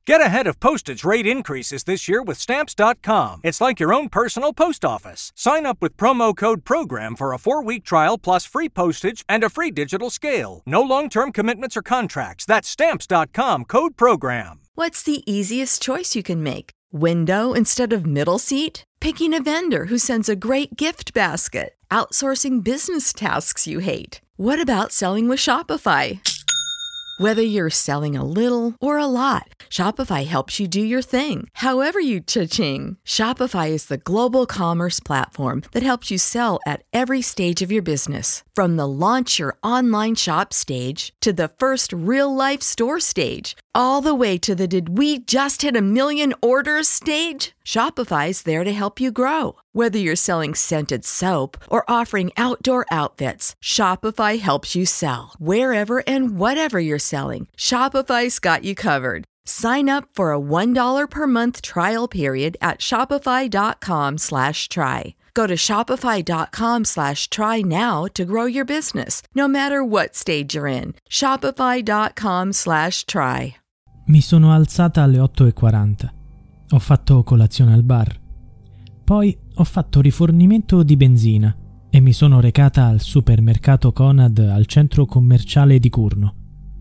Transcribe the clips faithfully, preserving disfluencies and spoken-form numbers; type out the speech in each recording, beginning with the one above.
Get ahead of postage rate increases this year with Stamps dot com. It's like your own personal post office. Sign up with promo code PROGRAM for a four-week trial plus free postage and a free digital scale. No long-term commitments or contracts. That's Stamps dot com, code PROGRAM. What's the easiest choice you can make? Window instead of middle seat? Picking a vendor who sends a great gift basket? Outsourcing business tasks you hate? What about selling with Shopify? Whether you're selling a little or a lot, Shopify helps you do your thing, however you cha-ching. Shopify is the global commerce platform that helps you sell at every stage of your business. From the launch your online shop stage to the first real-life store stage, all the way to the did we just hit a million orders stage? Shopify's there to help you grow. Whether you're selling scented soap or offering outdoor outfits, Shopify helps you sell. Wherever and whatever you're selling, Shopify's got you covered. Sign up for a one dollar per month trial period at shopify.com slash try. Go to shopify.com slash try now to grow your business, no matter what stage you're in. Shopify.com slash try. Mi sono alzata alle otto e quaranta. Ho fatto colazione al bar. Poi ho fatto rifornimento di benzina e mi sono recata al supermercato Conad al centro commerciale di Curno.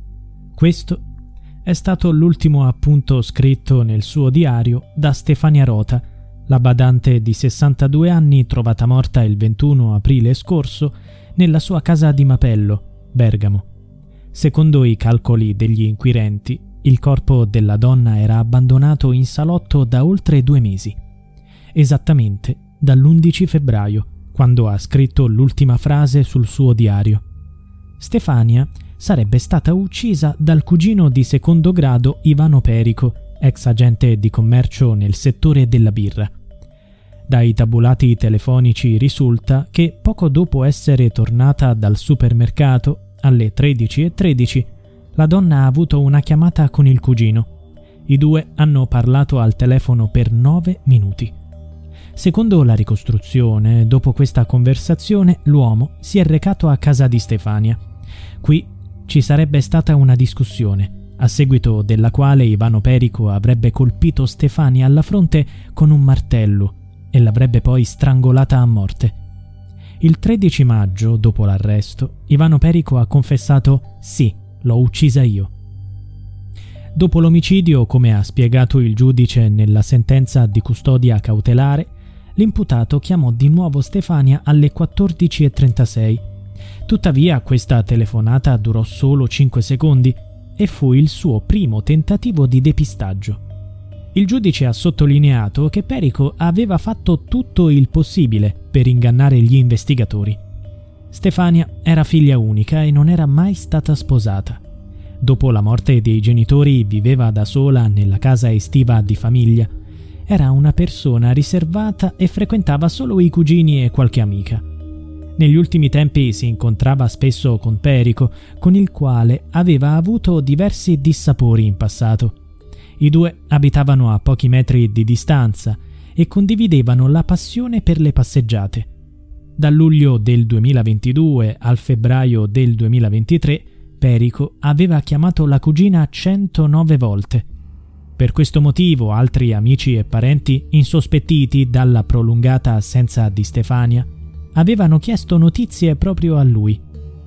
Questo è stato l'ultimo appunto scritto nel suo diario da Stefania Rota, la badante di sessantadue anni trovata morta il ventuno aprile scorso nella sua casa di Mapello, Bergamo. Secondo i calcoli degli inquirenti, il corpo della donna era abbandonato in salotto da oltre due mesi, esattamente dall'undici febbraio, quando ha scritto l'ultima frase sul suo diario. Stefania sarebbe stata uccisa dal cugino di secondo grado Ivano Perico, ex agente di commercio nel settore della birra. Dai tabulati telefonici risulta che poco dopo essere tornata dal supermercato, alle tredici e tredici, la donna ha avuto una chiamata con il cugino. I due hanno parlato al telefono per nove minuti. Secondo la ricostruzione, dopo questa conversazione, l'uomo si è recato a casa di Stefania. Qui ci sarebbe stata una discussione, a seguito della quale Ivano Perico avrebbe colpito Stefania alla fronte con un martello e l'avrebbe poi strangolata a morte. Il tredici maggio, dopo l'arresto, Ivano Perico ha confessato «Sì, l'ho uccisa io». Dopo l'omicidio, come ha spiegato il giudice nella sentenza di custodia cautelare, l'imputato chiamò di nuovo Stefania alle quattordici e trentasei. Tuttavia questa telefonata durò solo cinque secondi e fu il suo primo tentativo di depistaggio. Il giudice ha sottolineato che Perico aveva fatto tutto il possibile per ingannare gli investigatori. Stefania era figlia unica e non era mai stata sposata. Dopo la morte dei genitori viveva da sola nella casa estiva di famiglia. Era una persona riservata e frequentava solo i cugini e qualche amica. Negli ultimi tempi si incontrava spesso con Perico, con il quale aveva avuto diversi dissapori in passato. I due abitavano a pochi metri di distanza e condividevano la passione per le passeggiate. Dal luglio del duemilaventidue al febbraio del duemilaventitré, Perico aveva chiamato la cugina centonove volte. Per questo motivo altri amici e parenti, insospettiti dalla prolungata assenza di Stefania, avevano chiesto notizie proprio a lui.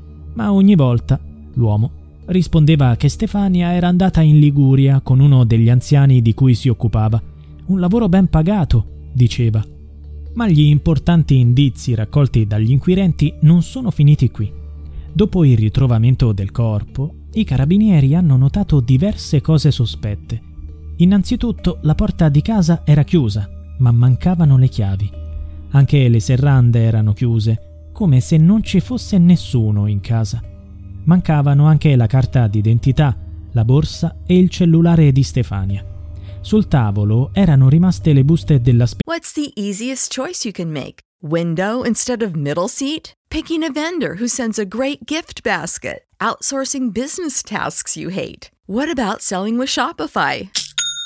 Ma ogni volta l'uomo rispondeva che Stefania era andata in Liguria con uno degli anziani di cui si occupava. Un lavoro ben pagato, diceva. Ma gli importanti indizi raccolti dagli inquirenti non sono finiti qui. Dopo il ritrovamento del corpo, i carabinieri hanno notato diverse cose sospette. Innanzitutto, la porta di casa era chiusa, ma mancavano le chiavi. Anche le serrande erano chiuse, come se non ci fosse nessuno in casa. Mancavano anche la carta d'identità, la borsa e il cellulare di Stefania. Sul tavolo erano rimaste le buste della spesa. What's the easiest choice you can make? Window instead of middle seat? Picking a vendor who sends a great gift basket? Outsourcing business tasks you hate? What about selling with Shopify?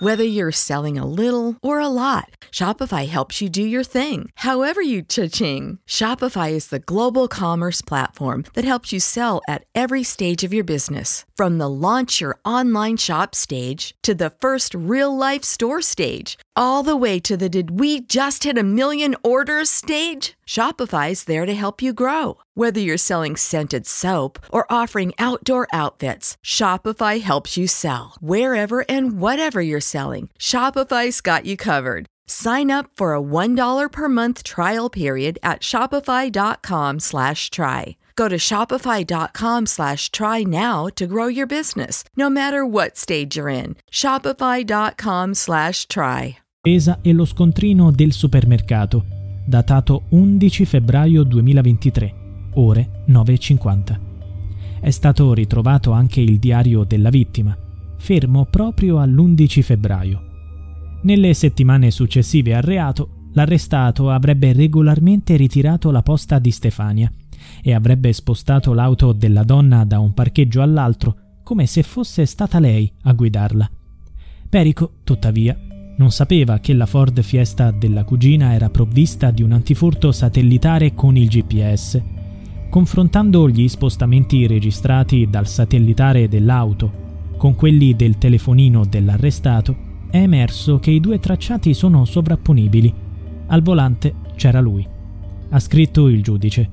Whether you're selling a little or a lot, Shopify helps you do your thing, however you cha-ching. Shopify is the global commerce platform that helps you sell at every stage of your business. From the launch your online shop stage to the first real-life store stage, all the way to the did we just hit a million orders stage. Shopify's there to help you grow. Whether you're selling scented soap or offering outdoor outfits, Shopify helps you sell. Wherever and whatever you're selling, Shopify's got you covered. Sign up for a one dollar per month trial period at shopify.com slash try. Go to shopify.com slash try now to grow your business, no matter what stage you're in. Shopify.com slash try. Pesa e lo scontrino del supermercato, datato undici febbraio duemilaventitré, ore nove e cinquanta. È stato ritrovato anche il diario della vittima, fermo proprio all'undici febbraio. Nelle settimane successive al reato, l'arrestato avrebbe regolarmente ritirato la posta di Stefania e avrebbe spostato l'auto della donna da un parcheggio all'altro come se fosse stata lei a guidarla. Perico, tuttavia, non sapeva che la Ford Fiesta della cugina era provvista di un antifurto satellitare con il G P S. Confrontando gli spostamenti registrati dal satellitare dell'auto con quelli del telefonino dell'arrestato, è emerso che i due tracciati sono sovrapponibili. Al volante c'era lui. Ha scritto il giudice.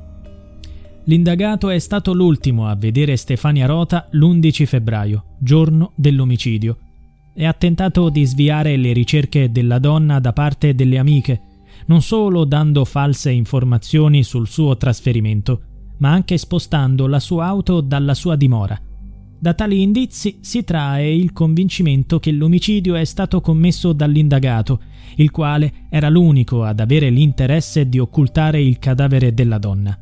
L'indagato è stato l'ultimo a vedere Stefania Rota l'undici febbraio, giorno dell'omicidio, e ha tentato di sviare le ricerche della donna da parte delle amiche, non solo dando false informazioni sul suo trasferimento, ma anche spostando la sua auto dalla sua dimora. Da tali indizi si trae il convincimento che l'omicidio è stato commesso dall'indagato, il quale era l'unico ad avere l'interesse di occultare il cadavere della donna.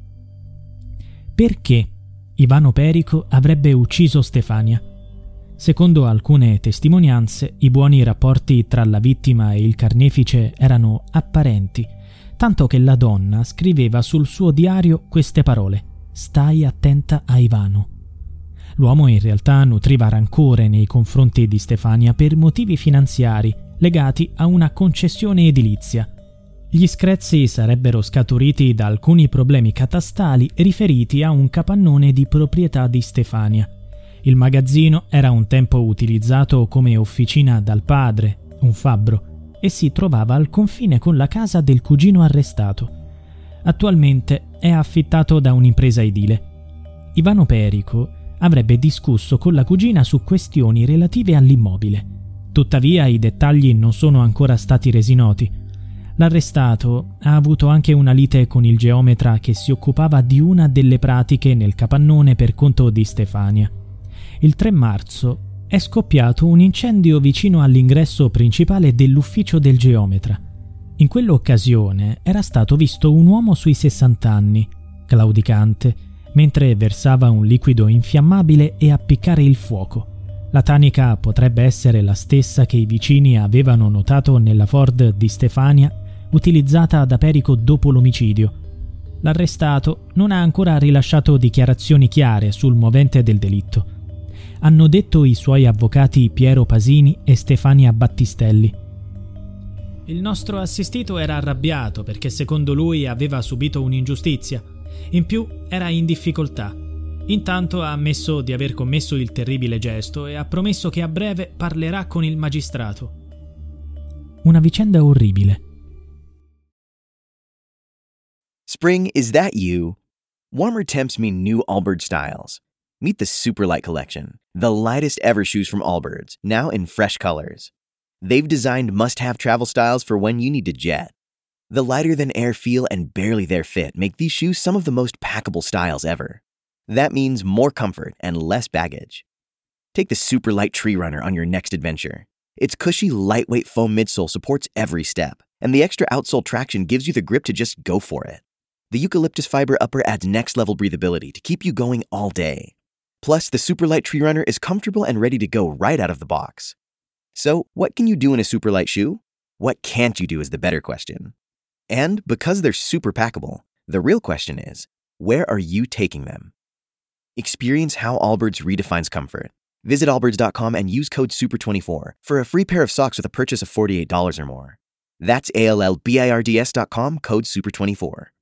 Perché Ivano Perico avrebbe ucciso Stefania? Secondo alcune testimonianze, i buoni rapporti tra la vittima e il carnefice erano apparenti, tanto che la donna scriveva sul suo diario queste parole: «Stai attenta a Ivano». L'uomo in realtà nutriva rancore nei confronti di Stefania per motivi finanziari legati a una concessione edilizia. Gli screzi sarebbero scaturiti da alcuni problemi catastali riferiti a un capannone di proprietà di Stefania. Il magazzino era un tempo utilizzato come officina dal padre, un fabbro, e si trovava al confine con la casa del cugino arrestato. Attualmente è affittato da un'impresa edile. Ivano Perico avrebbe discusso con la cugina su questioni relative all'immobile. Tuttavia i dettagli non sono ancora stati resi noti. L'arrestato ha avuto anche una lite con il geometra che si occupava di una delle pratiche nel capannone per conto di Stefania. Il tre marzo è scoppiato un incendio vicino all'ingresso principale dell'ufficio del geometra. In quell'occasione era stato visto un uomo sui sessanta anni, claudicante, mentre versava un liquido infiammabile e appiccare il fuoco. La tanica potrebbe essere la stessa che i vicini avevano notato nella Ford di Stefania, utilizzata da Perico dopo l'omicidio. L'arrestato non ha ancora rilasciato dichiarazioni chiare sul movente del delitto. Hanno detto i suoi avvocati Piero Pasini e Stefania Battistelli. Il nostro assistito era arrabbiato perché secondo lui aveva subito un'ingiustizia. In più era in difficoltà. Intanto ha ammesso di aver commesso il terribile gesto e ha promesso che a breve parlerà con il magistrato. Una vicenda orribile. Spring, is that you? Warmer temps mean new Allbirds styles. Meet the Superlight Collection, the lightest ever shoes from Allbirds, now in fresh colors. They've designed must-have travel styles for when you need to jet. The lighter-than-air feel and barely-there fit make these shoes some of the most packable styles ever. That means more comfort and less baggage. Take the Superlight Tree Runner on your next adventure. Its cushy, lightweight foam midsole supports every step, and the extra outsole traction gives you the grip to just go for it. The eucalyptus fiber upper adds next-level breathability to keep you going all day. Plus, the Superlight Tree Runner is comfortable and ready to go right out of the box. So, what can you do in a Superlight shoe? What can't you do is the better question. And because they're super packable, the real question is, where are you taking them? Experience how Allbirds redefines comfort. Visit allbirds dot com and use code super twenty-four for a free pair of socks with a purchase of forty-eight dollars or more. That's A L L B I R D S dot com, code super twenty-four.